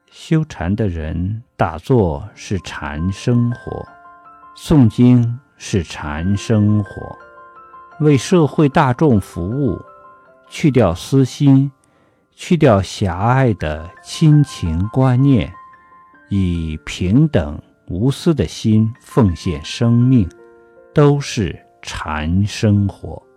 修禅的人打坐是禅生活，诵经是禅生活，为社会大众服务，去掉私心，去掉狭隘的亲情观念，以平等无私的心奉献生命，都是禅生活。